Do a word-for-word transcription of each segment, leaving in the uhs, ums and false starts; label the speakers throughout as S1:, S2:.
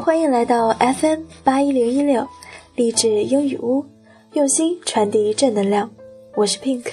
S1: 欢迎来到 F M 八一零一六励志英语屋，用心传递正能量。我是 Pink。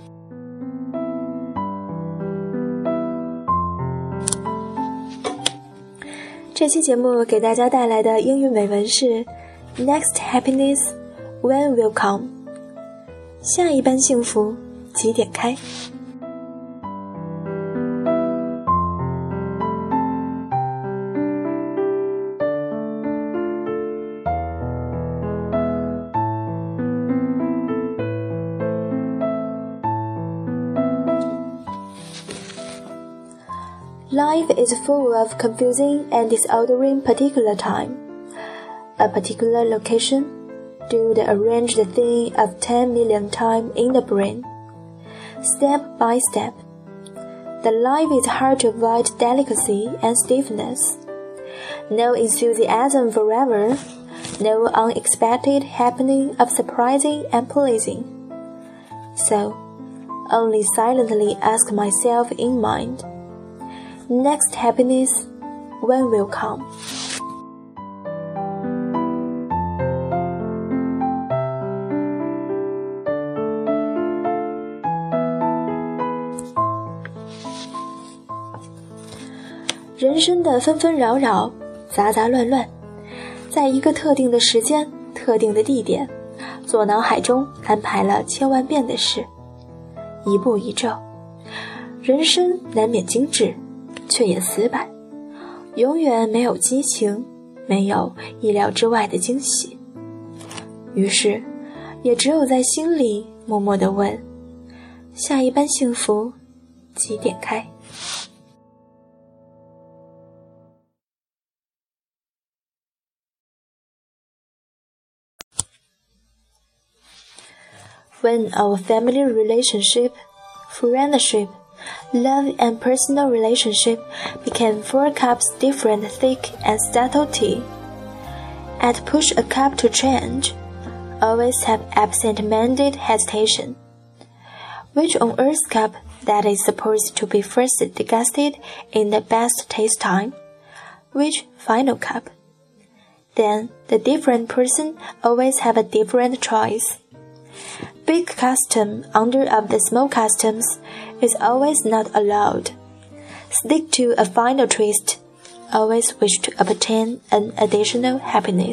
S1: 这期节目给大家带来的英语美文是 Next happiness when will come， 下一班幸福几点开。Life is full of confusing and disordering particular time, a particular location, do the arranged thing of ten million time in the brain, step by step. The life is hard to avoid delicacy and stiffness. No enthusiasm forever, no unexpected happening of surprising and pleasing. So, only silently ask myself in mind.Next happiness when will come. 人生的纷纷扰扰，杂杂乱乱，在一个特定的时间、特定的地点，做脑海中安排了千万遍的事，一步一骤，人生难免精致，却也死板，永远没有激情，没有意料之外的惊喜。于是也只有在心里默默地问，下一班幸福几点开。When our family relationship, friendship,Love and personal relationship became four cups different thick and subtle tea. At push a cup to change, always have absent-minded hesitation. Which on earth's cup that is supposed to be first degusted in the best taste time? Which final cup? Then the different person always have a different choice.Big custom under of the small customs is always not allowed. Stick to a final twist, always wish to obtain an additional happiness.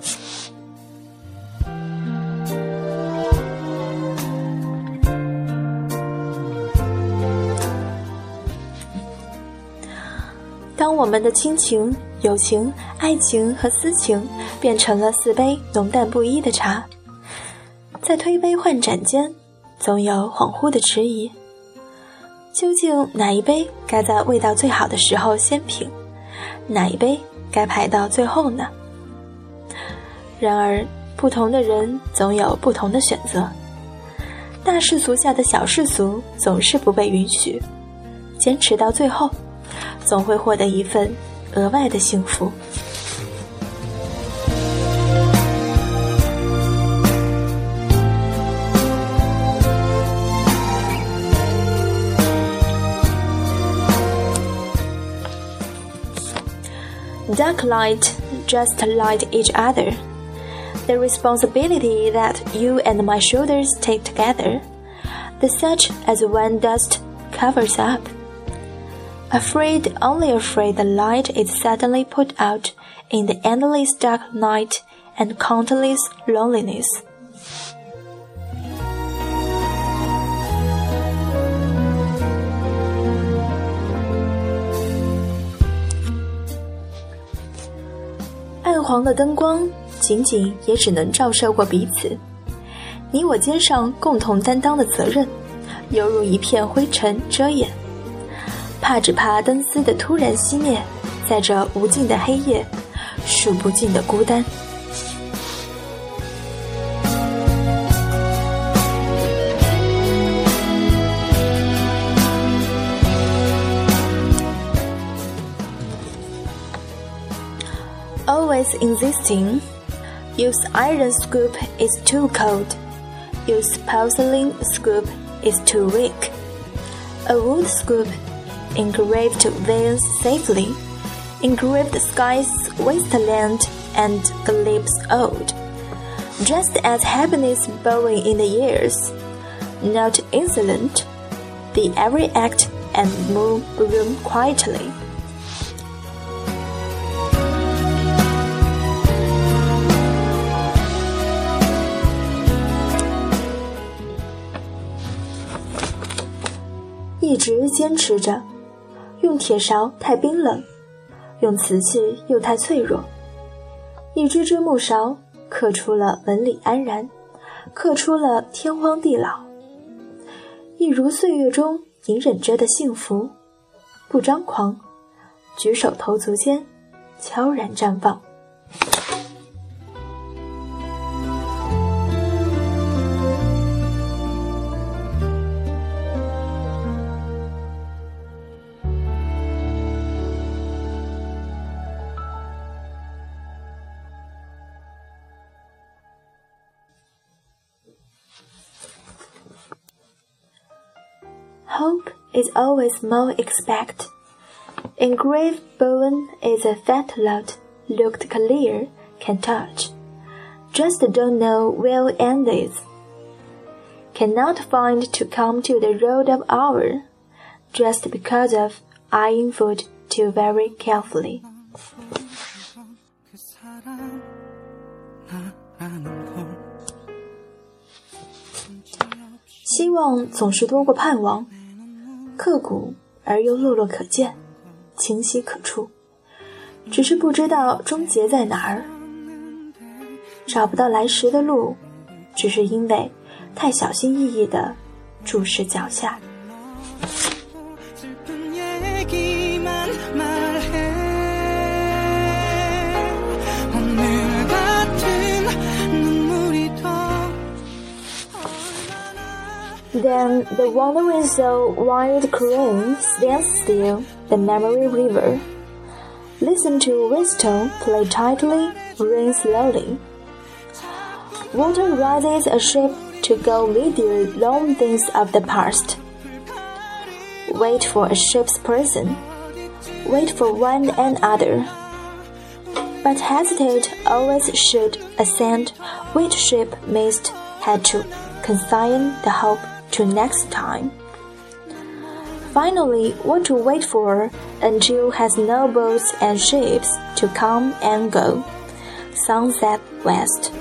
S1: 当我们的亲情、友情、爱情和私情变成了四杯浓淡不一的茶，在推杯换盏间，总有恍惚的迟疑。究竟哪一杯该在味道最好的时候先品，哪一杯该排到最后呢？然而，不同的人总有不同的选择。大世俗下的小世俗总是不被允许，坚持到最后，总会获得一份额外的幸福。Dark light just light each other. The responsibility that you and my shoulders take together, the such as when dust covers up. Afraid, only afraid the light is suddenly put out in the endless dark night and countless loneliness.暗黄的灯光仅仅也只能照射过彼此，你我肩上共同担当的责任犹如一片灰尘遮掩，怕只怕灯丝的突然熄灭，在这无尽的黑夜，数不尽的孤单。Always insisting, use iron scoop is too cold, use porcelain scoop is too weak. A wood scoop engraved veins safely, engraved skies, wasteland, and glimpse old. Just as happiness bowing in the years, not insolent, the every act and move room quietly.一直坚持着，用铁勺太冰冷，用瓷器又太脆弱。一只只木勺刻出了纹理安然，刻出了天荒地老。一如岁月中隐忍着的幸福，不张狂，举手投足间悄然绽放。Hope is always more expect. Engraved bone is a fat lot, looked clear, can touch. Just don't know where end is. Cannot find to come to the road of hour, just because of eyeing food too very carefully. 希望总是多过盼望。刻骨而又落落可见，清晰可触，只是不知道终结在哪儿。找不到来时的路，只是因为太小心翼翼地注视脚下。Then the wandering soul wild crane stands still, the memory river. Listen to whistle play tightly, rain slowly. Water rises a ship to go with you long things of the past. Wait for a ship's person, wait for one and other. But hesitate always should ascend which ship missed had to consign the hope to next time. Finally, what to wait for until has no boats and ships to come and go. Sunset West.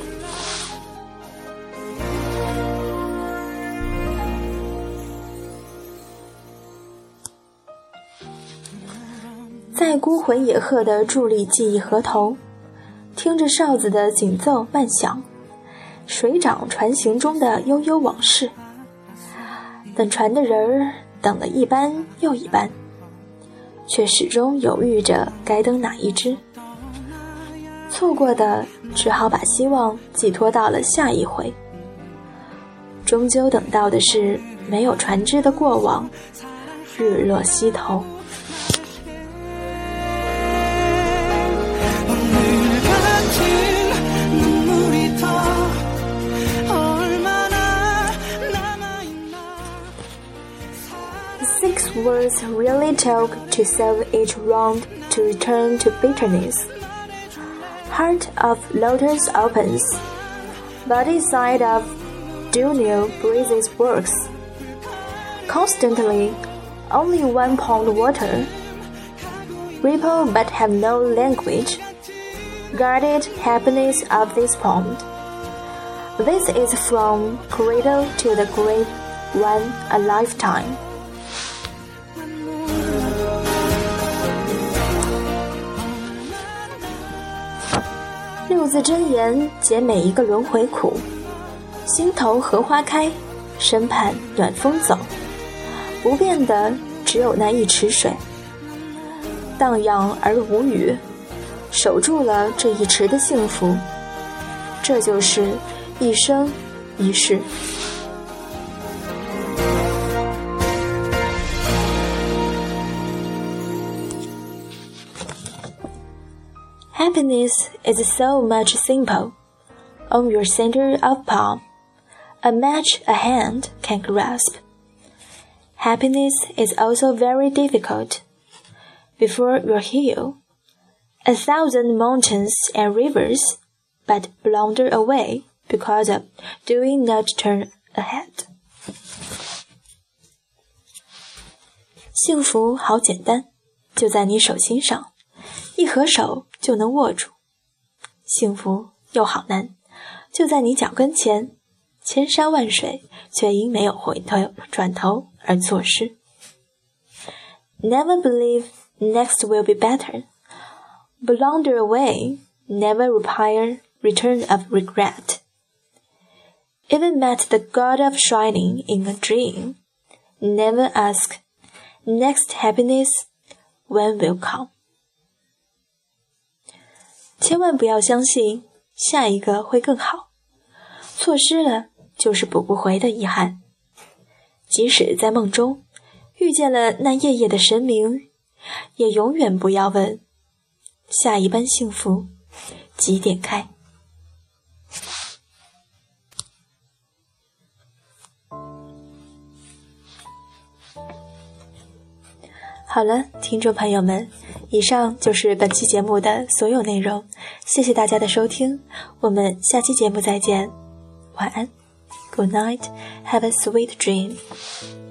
S1: 在孤魂野鹤的伫立记忆河头，听着哨子的紧奏慢响，水涨船行中的悠悠往事。等船的人儿等了一班又一班，却始终犹豫着该登哪一只。错过的只好把希望寄托到了下一回。终究等到的是没有船只的过往，日落西头。Six words really talk to solve each wrong, to return to bitterness. Heart of lotus opens, body side of dual breezes works. Constantly, only one pond water. Ripple but have no language. Guarded happiness of this pond. This is from cradle to the grave, one a lifetime. 六字真言解每一个轮回苦，心头荷花开，身畔暖风走，不变的只有那一池水，荡漾而无语，守住了这一池的幸福，这就是一生一世。Happiness is so much simple. On your center of palm, a match a hand can grasp. Happiness is also very difficult. Before your heel, a thousand mountains and rivers, but blunder away because of doing not turn ahead. 幸福好简单，就在你手心上，一合手就能握住。幸福又好难，就在你脚跟前，千山万水却因没有回头转头而错失。Never believe next will be better. Blunder away, never require return of regret. Even met the God of shining in a dream. Never ask, next happiness, when will come? 千万不要相信下一个会更好，错失了就是补不回的遗憾。即使在梦中遇见了那夜夜的神明，也永远不要问下一班幸福几点开。好了，听众朋友们，以上就是本期节目的所有内容，谢谢大家的收听，我们下期节目再见，晚安 ，Good night, have a sweet dream.